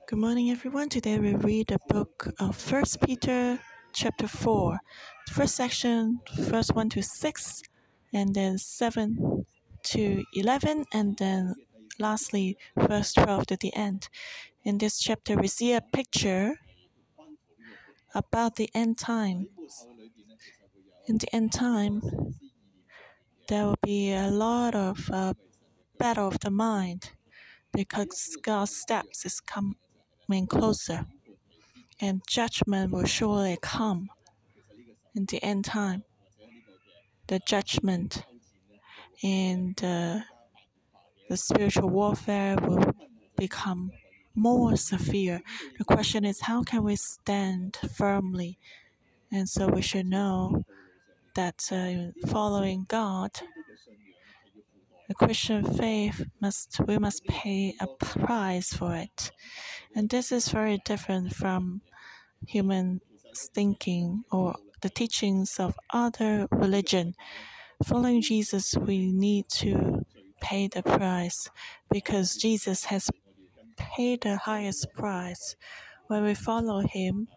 Good morning, everyone. Today we read the book of 1 Peter chapter 4. The first section, verse 1 to 6, and then 7 to 11, and then lastly, verse 12 to the end. In this chapter, we see a picture about the end time. In the end time, there will be a lot of battle of the mind because God's steps is coming closer. And judgment will surely come in the end time. The judgment and the spiritual warfare will become more severe. The question is, how can we stand firmly? And so we should know that following God, the Christian faith we must pay a price for it. And this is very different from human thinking or the teachings of other religion. Following Jesus, we need to pay the price because Jesus has paid the highest price. When we follow him,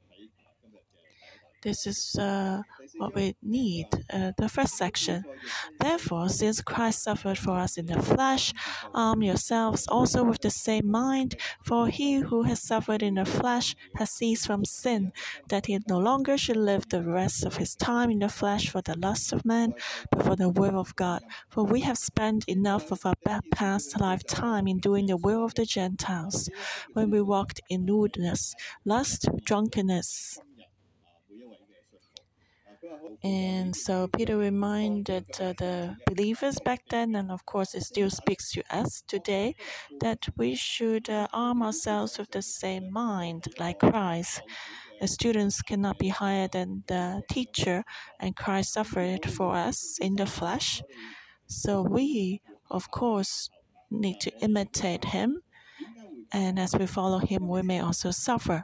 this is what we need. The first section. Therefore, since Christ suffered for us in the flesh, arm yourselves also with the same mind. For he who has suffered in the flesh has ceased from sin, that he no longer should live the rest of his time in the flesh for the lust of man, but for the will of God. For we have spent enough of our past lifetime in doing the will of the Gentiles, when we walked in lewdness, lust, drunkenness. And so Peter reminded the believers back then, and of course it still speaks to us today, that we should arm ourselves with the same mind like Christ. The students cannot be higher than the teacher, and Christ suffered for us in the flesh. So we, of course, need to imitate him, and as we follow him, we may also suffer.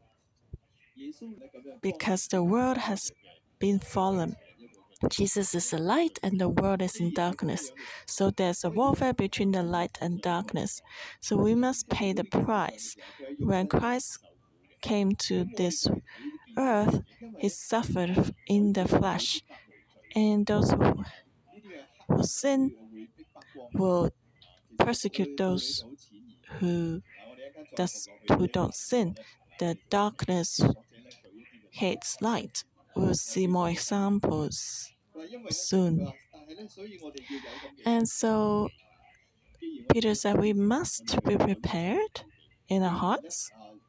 Because the world has been fallen. Jesus is the light and the world is in darkness. So there's a warfare between the light and darkness. So we must pay the price. When Christ came to this earth, he suffered in the flesh. And those who sin will persecute those who don't sin. The darkness hates light. We'll see more examples soon. And so Peter said we must be prepared in our hearts.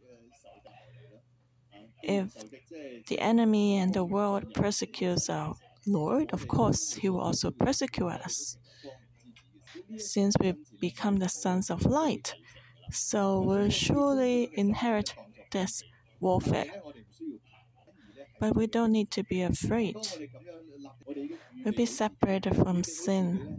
If the enemy and the world persecutes our Lord, of course, he will also persecute us. Since we become the sons of light, so we'll surely inherit this warfare. But we don't need to be afraid. We'll be separated from sin.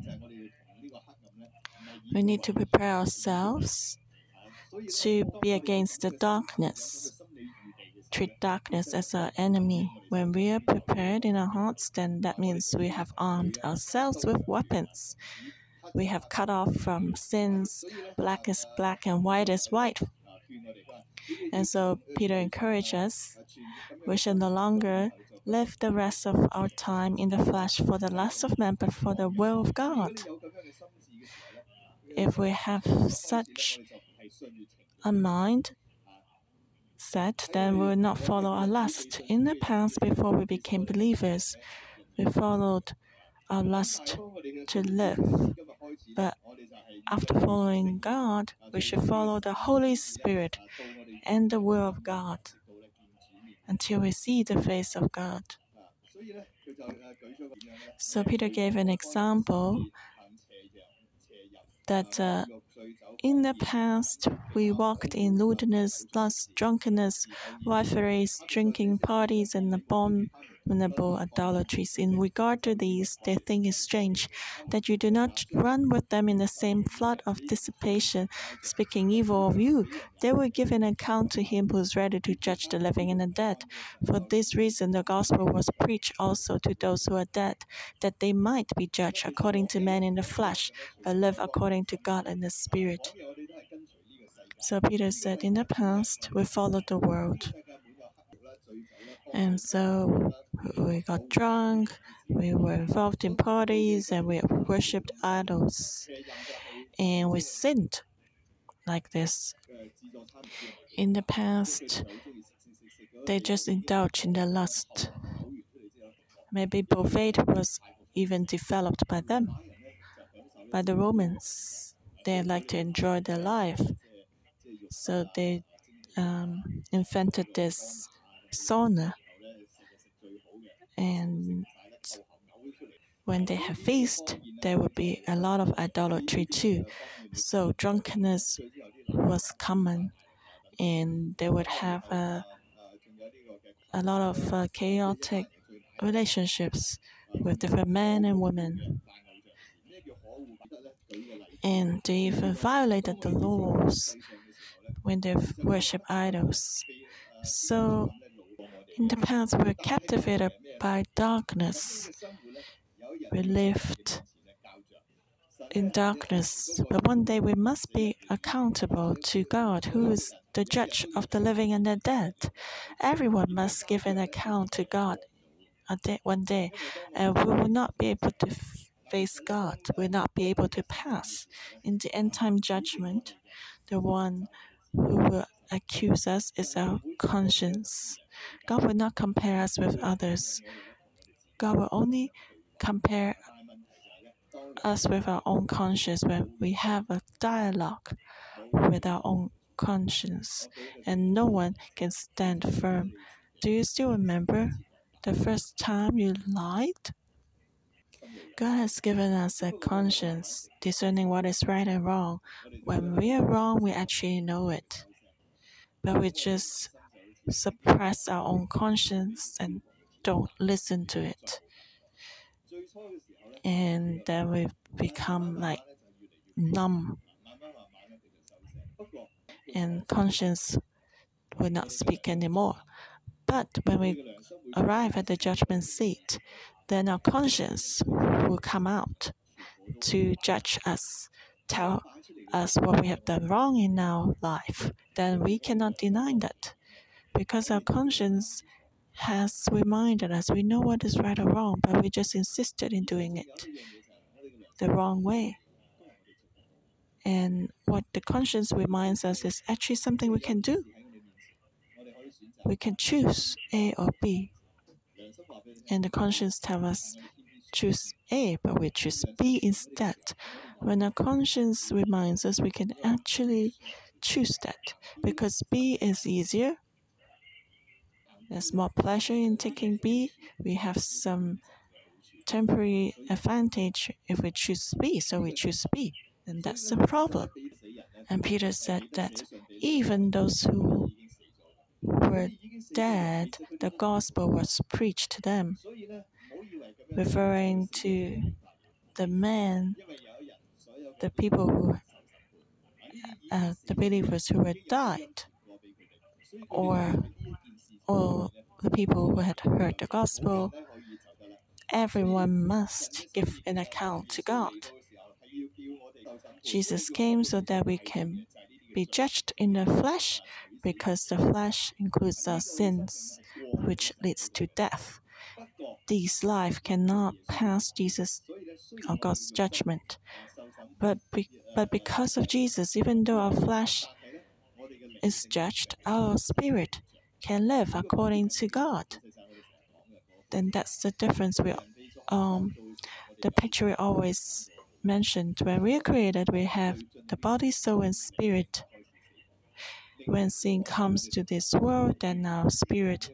We need to prepare ourselves to be against the darkness. Treat darkness as our enemy. When we are prepared in our hearts, then that means we have armed ourselves with weapons. We have cut off from sins. Black is black and white is white. And so Peter encouraged us, we shall no longer live the rest of our time in the flesh for the lust of man, but for the will of God. If we have such a mind set, then we will not follow our lust. In the past, before we became believers, we followed our lust to live. But after following God, we should follow the Holy Spirit and the will of God until we see the face of God. So Peter gave an example that in the past we walked in lewdness, lust, drunkenness, rivalries, drinking parties, and abominable idolatries. In regard to these, they think it strange that you do not run with them in the same flood of dissipation, speaking evil of you. They will give an account to him who is ready to judge the living and the dead. For this reason, the gospel was preached also to those who are dead, that they might be judged according to men in the flesh, but live according to God in the Spirit. So Peter said, in the past, we followed the world. And so we got drunk, we were involved in parties, and we worshipped idols. And we sinned like this. In the past, they just indulged in their lust. Maybe Beauvais was even developed by them, by the Romans. They like to enjoy their life. So they invented this sauna. And when they have feast, there would be a lot of idolatry too. So drunkenness was common, and they would have a lot of chaotic relationships with different men and women. And they even violated the laws when they worship idols. So in the past, we were captivated by darkness. We lived in darkness, but one day we must be accountable to God, who is the judge of the living and the dead. Everyone must give an account to God one day, and we will not be able to face God. We will not be able to pass in the end time judgment. The one who will accuse us is our conscience. God will not compare us with others. God will only compare us with our own conscience when we have a dialogue with our own conscience, and no one can stand firm. Do you still remember the first time you lied? God has given us a conscience, discerning what is right and wrong. When we are wrong, we actually know it, but we just suppress our own conscience and don't listen to it. And then we become like numb, and conscience will not speak anymore. But when we arrive at the judgment seat, then our conscience will come out to judge us, tell us what we have done wrong in our life. Then we cannot deny that, because our conscience has reminded us we know what is right or wrong, but we just insisted in doing it the wrong way. And what the conscience reminds us is actually something we can do. We can choose A or B. And the conscience tells us choose A, but we choose B instead. When our conscience reminds us, we can actually choose that, because B is easier. There's more pleasure in taking B. We have some temporary advantage if we choose B, so we choose B. And that's the problem. And Peter said that even those who were dead, the gospel was preached to them, referring to the men, the people who, the believers who had died, or the people who had heard the gospel. Everyone must give an account to God. Jesus came so that we can be judged in the flesh, because the flesh includes our sins, which leads to death. This life cannot pass Jesus or God's judgment. But because of Jesus, even though our flesh is judged, our spirit can live according to God. Then that's the difference. The picture we always mentioned. When we are created, we have the body, soul, and spirit. When sin comes to this world, then our spirit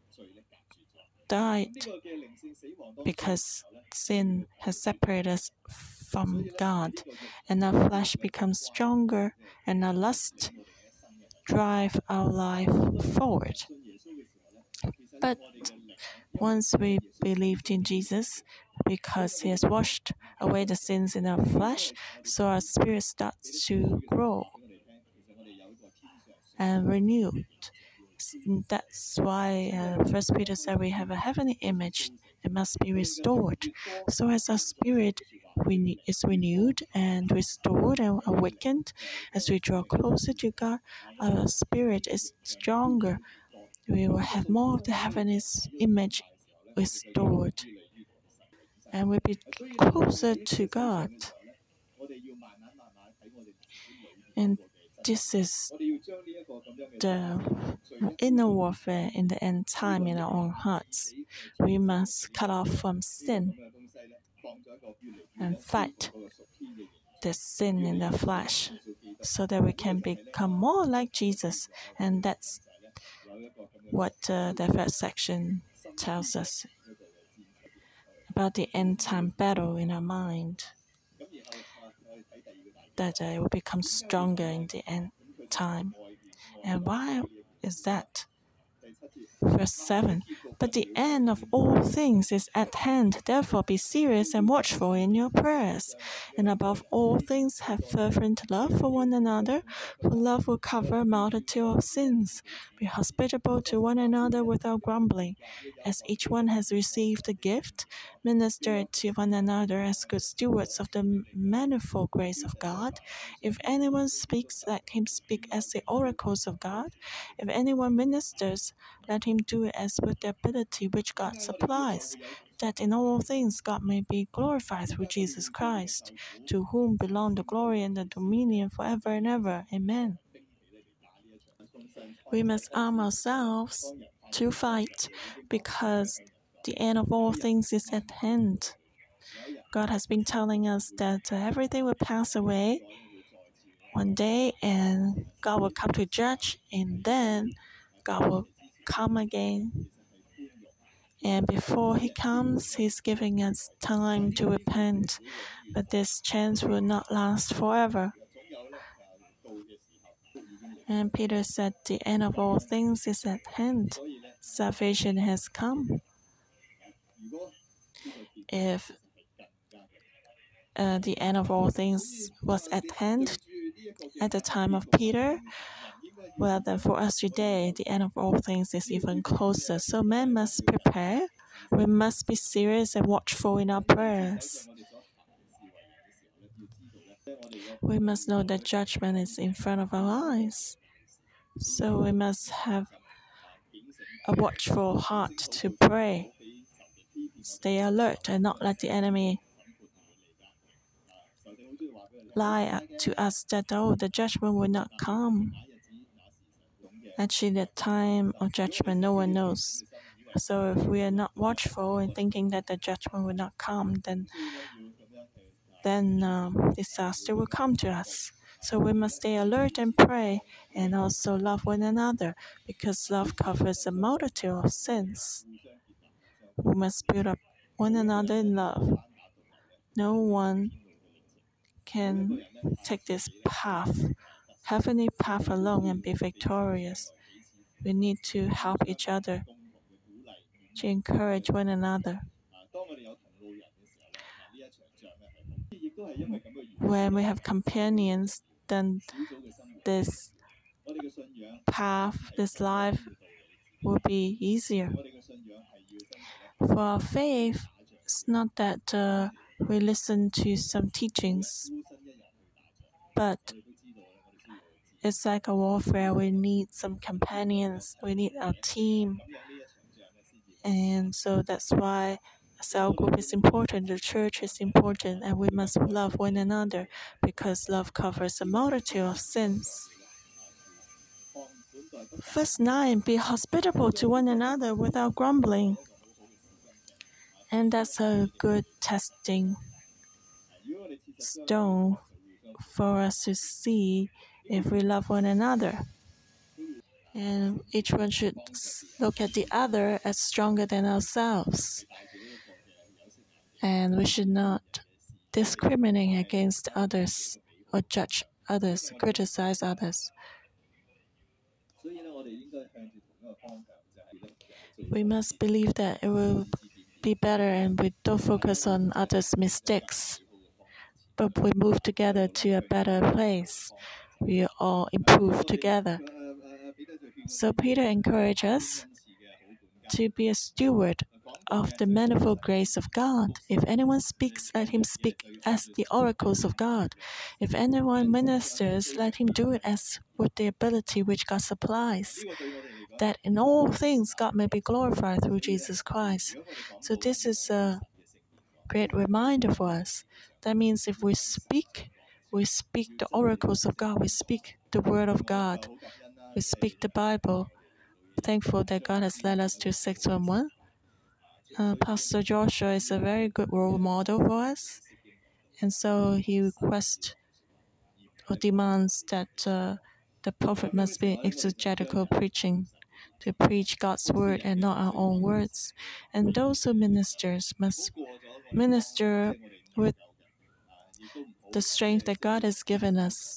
died because sin has separated us from God, and our flesh becomes stronger, and our lust drive our life forward. But once we believed in Jesus, because He has washed away the sins in our flesh, so our spirit starts to grow and renewed. That's why 1 Peter said we have a heavenly image. It must be restored. So as our spirit is renewed and restored and awakened. As we draw closer to God, our spirit is stronger. We will have more of the heavenly image restored, and we'll be closer to God. And this is the inner warfare in the end time in our own hearts. We must cut off from sin and fight the sin in the flesh so that we can become more like Jesus. And that's what the first section tells us about the end time battle in our mind, that it will become stronger in the end time. And why is that? Verse 7, but the end of all things is at hand. Therefore be serious and watchful in your prayers. And above all things have fervent love for one another, for love will cover a multitude of sins. Be hospitable to one another without grumbling. As each one has received a gift, minister it to one another as good stewards of the manifold grace of God. If anyone speaks, let him speak as the oracles of God. If anyone ministers, let him do it as with the ability which God supplies, that in all things God may be glorified through Jesus Christ, to whom belong the glory and the dominion forever and ever. Amen. We must arm ourselves to fight, because the end of all things is at hand. God has been telling us that everything will pass away one day, and God will come to judge, and then God will come again. And before He comes, He's giving us time to repent. But this chance will not last forever. And Peter said, the end of all things is at hand. Salvation has come. If the end of all things was at hand at the time of Peter, well, then for us today, the end of all things is even closer. So men must prepare. We must be serious and watchful in our prayers. We must know that judgment is in front of our eyes. So we must have a watchful heart to pray. Stay alert and not let the enemy lie to us that, oh, the judgment will not come. Actually, the time of judgment, no one knows. So if we are not watchful and thinking that the judgment will not come, then disaster will come to us. So we must stay alert and pray, and also love one another, because love covers a multitude of sins. We must build up one another in love. No one can take this path, heavenly path alone, and be victorious. We need to help each other, to encourage one another. When we have companions, then this path, this life will be easier. For our faith, it's not that we listen to some teachings, but it's like a warfare. We need some companions. We need our team. And so that's why cell group is important, the church is important, and we must love one another, because love covers a multitude of sins. Verse 9, be hospitable to one another without grumbling. And that's a good testing stone for us to see if we love one another. And each one should look at the other as stronger than ourselves. And we should not discriminate against others or judge others, criticize others. We must believe that it will be better, and we don't focus on others' mistakes, but we move together to a better place. We all improve together. So Peter encouraged us to be a steward of the manifold grace of God. If anyone speaks, let him speak as the oracles of God. If anyone ministers, let him do it as with the ability which God supplies, that in all things God may be glorified through Jesus Christ. So this is a great reminder for us. That means if we speak the oracles of God, we speak the word of God, we speak the Bible. Thankful that God has led us to 611. Pastor Joshua is a very good role model for us, and so he requests or demands that the prophet must be exegetical preaching, to preach God's word and not our own words. And those who ministers must minister with the strength that God has given us.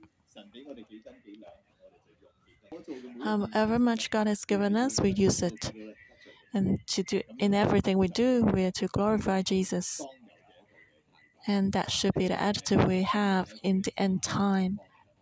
However much God has given us, we use it. And to do in everything we do, we are to glorify Jesus. And that should be the attitude we have in the end time.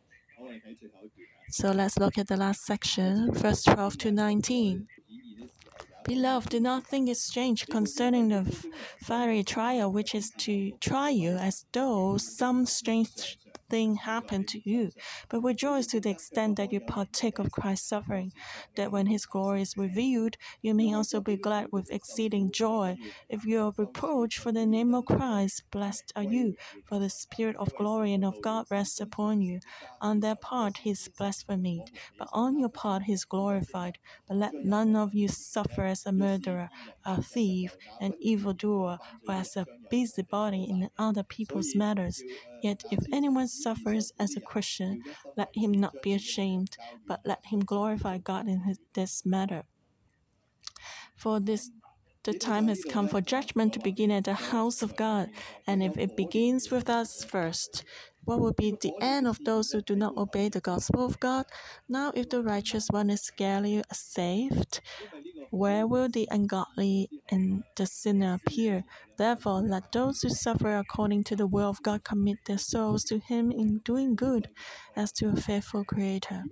So let's look at the last section, verse 12 to 19. Beloved, do not think it strange concerning the fiery trial which is to try you, as though some strange thing happened to you, but rejoice to the extent that you partake of Christ's suffering, that when his glory is revealed, you may also be glad with exceeding joy. If you are reproached for the name of Christ, blessed are you, for the Spirit of glory and of God rests upon you. On their part he is blasphemed, but on your part he is glorified. But let none of you suffer as a murderer, a thief, an evildoer, or as a busybody in other people's matters. Yet if anyone suffers as a Christian, let him not be ashamed, but let him glorify God in this matter. For the time has come for judgment to begin at the house of God, and if it begins with us first, what will be the end of those who do not obey the gospel of God? Now, if the righteous one is scarcely saved, where will the ungodly and the sinner appear? Therefore, let those who suffer according to the will of God commit their souls to Him in doing good, as to a faithful Creator.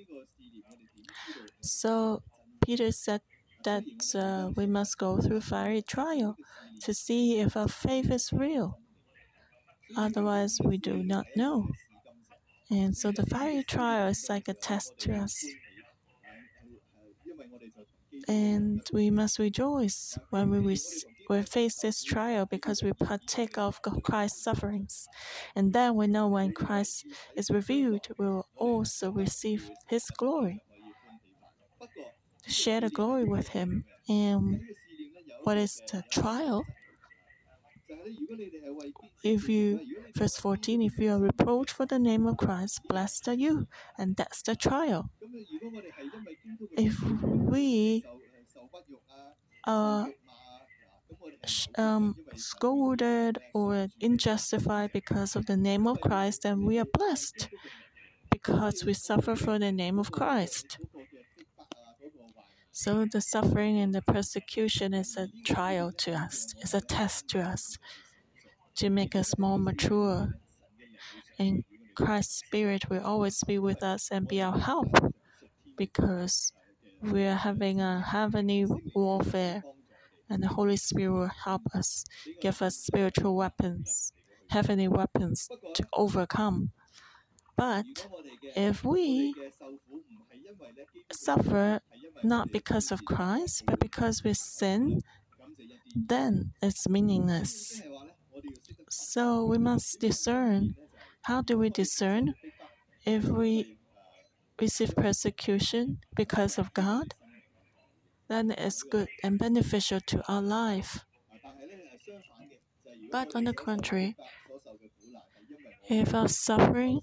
So, Peter said that we must go through fiery trial to see if our faith is real. Otherwise, we do not know. And so the fiery trial is like a test to us. And we must rejoice when we face this trial because we partake of Christ's sufferings. And then we know when Christ is revealed, we will also receive His glory, share the glory with Him. And what is the trial? Verse 14, if you are reproached for the name of Christ, blessed are you. And that's the trial. If we are scolded or unjustified because of the name of Christ, then we are blessed because we suffer for the name of Christ. So the suffering and the persecution is a trial to us, it's a test to us to make us more mature. And Christ's Spirit will always be with us and be our help because we are having a heavenly warfare, and the Holy Spirit will help us, give us spiritual weapons, heavenly weapons to overcome. But if we suffer not because of Christ, but because we sin, then it's meaningless. So we must discern. How do we discern? If we receive persecution because of God, then it's good and beneficial to our life. But on the contrary, if our suffering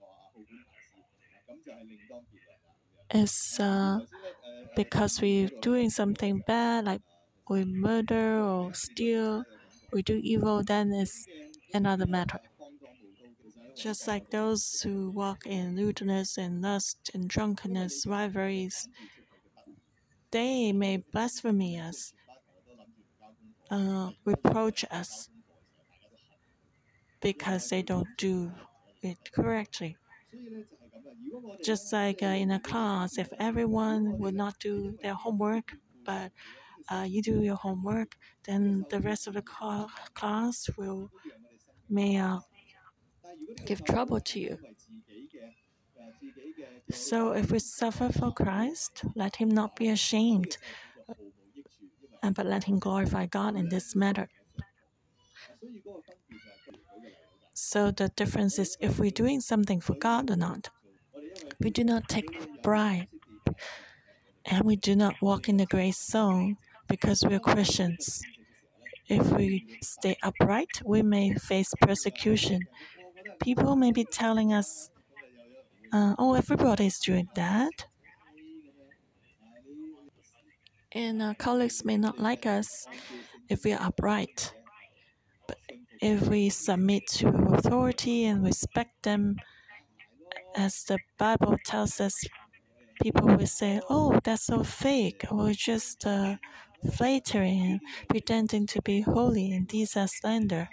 is because we're doing something bad, like we murder or steal, we do evil, then it's another matter. Just like those who walk in lewdness and lust and drunkenness, rivalries, they may blaspheme us, reproach us because they don't do it correctly. Just like in a class, if everyone would not do their homework, but you do your homework, then the rest of the class may give trouble to you. So if we suffer for Christ, let him not be ashamed, but let him glorify God in this matter. So the difference is if we're doing something for God or not. We do not take bribe, and we do not walk in the grace zone because we're Christians. If we stay upright, we may face persecution. People may be telling us, oh, everybody is doing that. And our colleagues may not like us if we are upright. But if we submit to authority and respect them, as the Bible tells us, people will say, oh, that's so fake, or just flattering and pretending to be holy, and these are slander.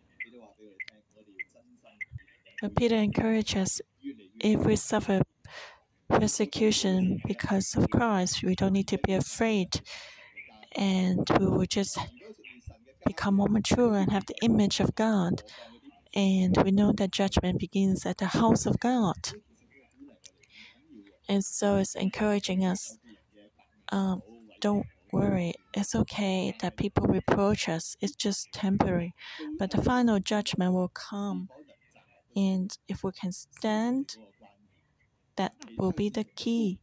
But Peter encourages us, if we suffer persecution because of Christ, we don't need to be afraid, and we will just become more mature and have the image of God. And we know that judgment begins at the house of God. And so it's encouraging us, don't worry, it's okay that people reproach us, it's just temporary. But the final judgment will come. And if we can stand, that will be the key.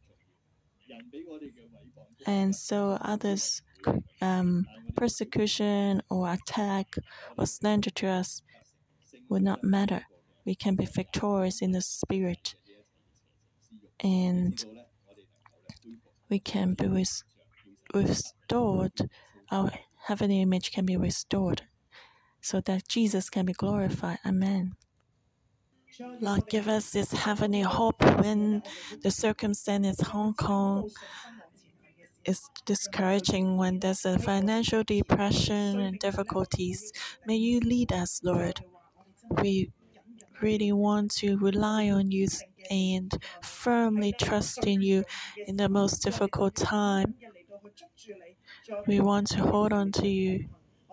And so others' persecution or attack or slander to us will not matter. We can be victorious in the spirit, and we can be restored. Our heavenly image can be restored, so that Jesus can be glorified. Amen. Lord, give us this heavenly hope when the circumstance in Hong Kong is discouraging, when there's a financial depression and difficulties. May you lead us, Lord. We really want to rely on you and firmly trust in you in the most difficult time. We want to hold on to you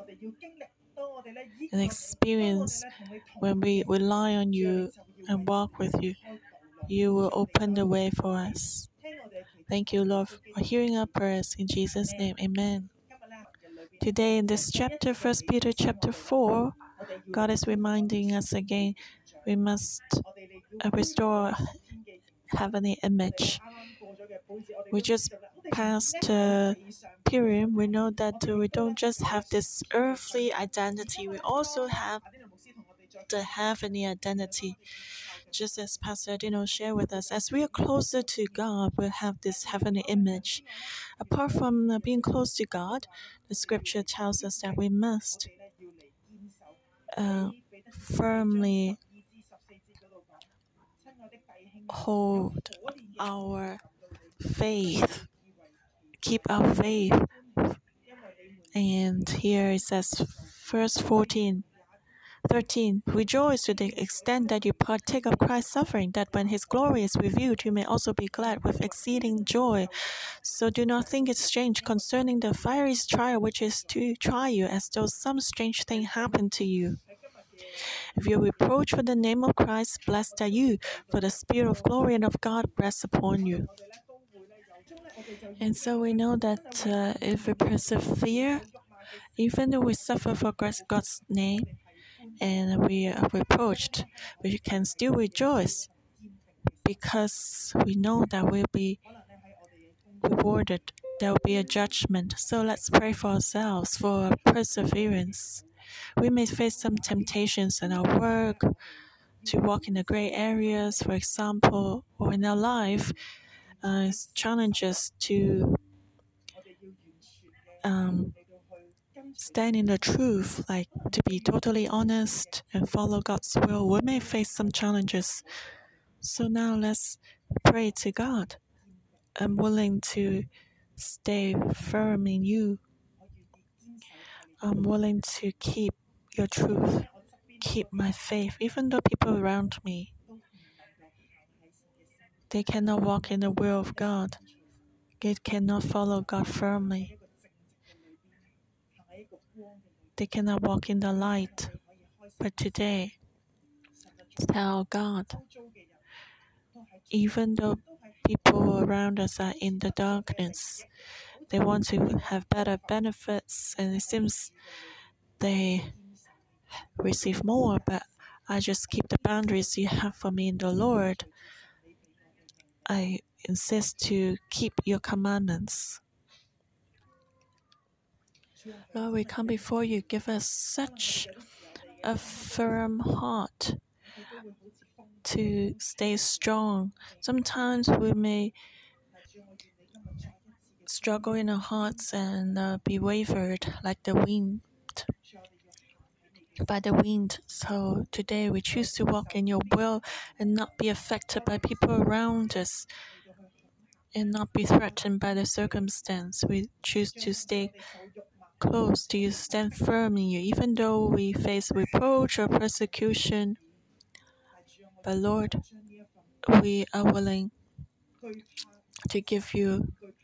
and experience when we rely on you and walk with you. You will open the way for us. Thank you, Lord, for hearing our prayers. In Jesus' name, amen. Today in this chapter, 1 Peter chapter 4, God is reminding us again, we must restore heavenly image. We just passed a period. We know that we don't just have this earthly identity, we also have the heavenly identity. Just as Pastor Dino shared with us, as we are closer to God, we'll have this heavenly image. Apart from being close to God, the scripture tells us that we must firmly hold our faith, keep our faith. And here it says, verse 13, rejoice to the extent that you partake of Christ's suffering, that when his glory is revealed, you may also be glad with exceeding joy. So do not think it strange concerning the fiery trial which is to try you, as though some strange thing happened to you. If you are reproached for the name of Christ, blessed are you, for the Spirit of glory and of God rests upon you. And so we know that if we persevere, even though we suffer for God's name and we are reproached, we can still rejoice because we know that we'll be rewarded. There will be a judgment. So let's pray for ourselves for perseverance. We may face some temptations in our work, to walk in the gray areas, for example, or in our life, challenges to stand in the truth, like to be totally honest and follow God's will. We may face some challenges. So now let's pray to God. I'm willing to stay firm in you. I'm willing to keep your truth, keep my faith, even though people around me, they cannot walk in the will of God. They cannot follow God firmly. they cannot walk in the light. But today, tell God, even though people around us are in the darkness, they want to have better benefits, and it seems they receive more, but I just keep the boundaries you have for me in the Lord. I insist to keep your commandments. Lord, we come before you. Give us such a firm heart to stay strong. Sometimes we may struggle in our hearts and be wavered like the wind, by the wind. So today we choose to walk in your will and not be affected by people around us and not be threatened by the circumstance. We choose to stay close to you, stand firm in you, even though we face reproach or persecution. But Lord, we are willing to give you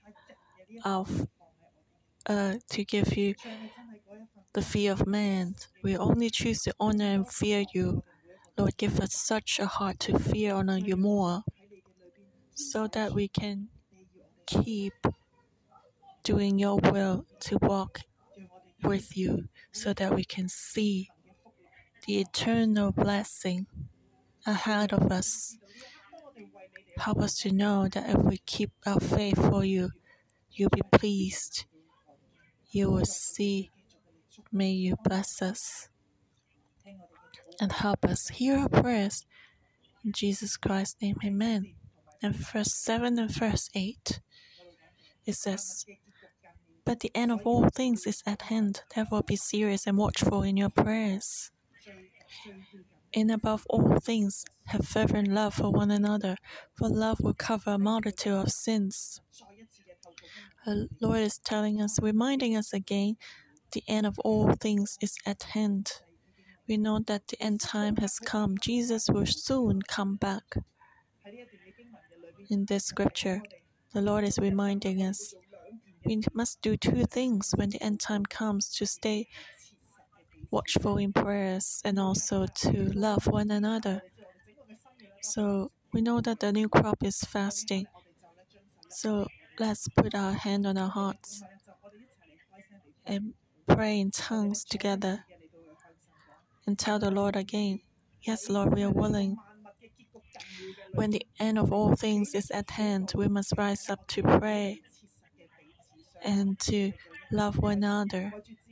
the fear of man. We only choose to honor and fear you. Lord, give us such a heart to fear and honor you more, so that we can keep doing your will, to walk with you, so that we can see the eternal blessing ahead of us. Help us to know that if we keep our faith for you, you'll be pleased. You will see. May you bless us and help us. Hear our prayers. In Jesus Christ's name, amen. And verse 7 and verse 8, it says, "But the end of all things is at hand. Therefore be serious and watchful in your prayers. And above all things, have fervent love for one another, for love will cover a multitude of sins." The Lord is telling us, reminding us again, the end of all things is at hand. We know that the end time has come. Jesus will soon come back. In this scripture, the Lord is reminding us we must do two things when the end time comes: to stay watchful in prayers and also to love one another. So we know that the new crop is fasting. So let's put our hand on our hearts and pray in tongues together and tell the Lord again, yes, Lord, we are willing. When the end of all things is at hand, we must rise up to pray and to love one another.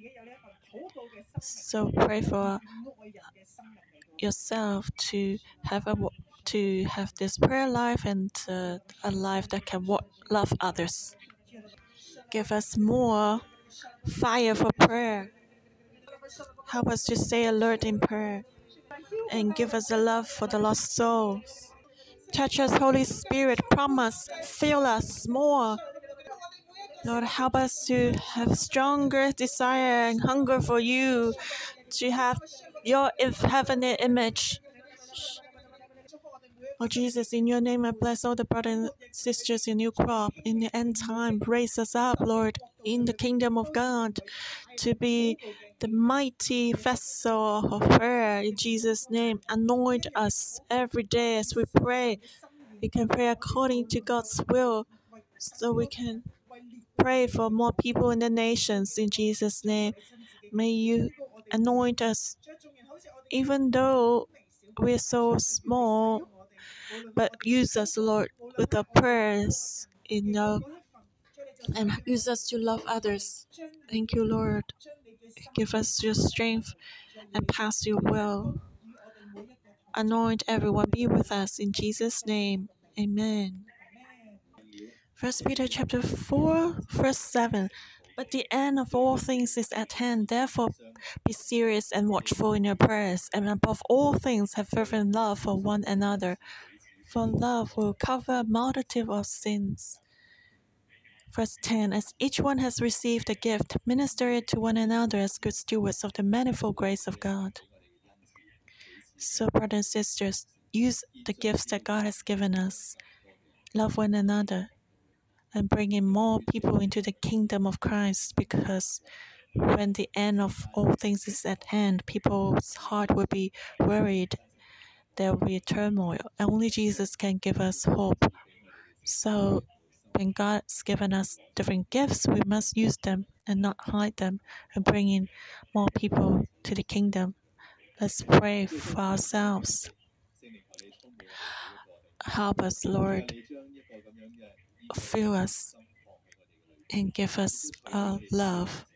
So pray for yourself to have this prayer life and a life that can love others. Give us more fire for prayer. Help us to stay alert in prayer and give us a love for the lost souls. Touch us, Holy Spirit, promise, fill us more. Lord, help us to have stronger desire and hunger for you, to have your heavenly image. Oh Jesus, in your name I bless all the brothers and sisters in New Crop in the end time. Raise us up, Lord, in the kingdom of God, to be the mighty vessel of prayer in Jesus' name. Anoint us every day as we pray. We can pray according to God's will, so we can pray for more people in the nations in Jesus' name. May you anoint us, even though we're so small, but use us, Lord, with our prayers, and use us to love others. Thank you, Lord. Give us your strength and pass your will. Anoint everyone. Be with us in Jesus' name. Amen. 1 Peter chapter 4, verse 7. But the end of all things is at hand. Therefore, be serious and watchful in your prayers, and above all things, have fervent love for one another. For love will cover a multitude of sins. Verse 10. As each one has received a gift, minister it to one another as good stewards of the manifold grace of God. So, brothers and sisters, use the gifts that God has given us. Love one another and bring in more people into the kingdom of Christ, because when the end of all things is at hand, people's heart will be worried. There will be turmoil. Only Jesus can give us hope. So when God's given us different gifts, we must use them and not hide them and bring in more people to the kingdom. Let's pray for ourselves. Help us, Lord. Fill us and give us love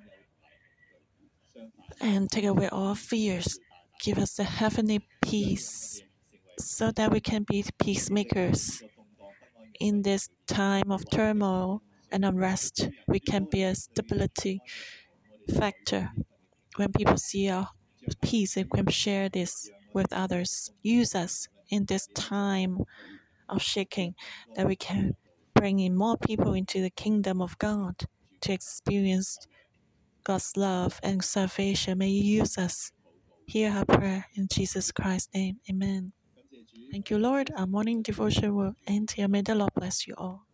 and take away all fears. Give us the heavenly peace so that we can be peacemakers. In this time of turmoil and unrest, we can be a stability factor. When people see our peace, they can share this with others. Use us in this time of shaking, that we can bring in more people into the kingdom of God to experience God's love and salvation. May you use us. Hear our prayer in Jesus Christ's name. Amen. Thank you, Lord. Our morning devotion will end here. May the Lord bless you all.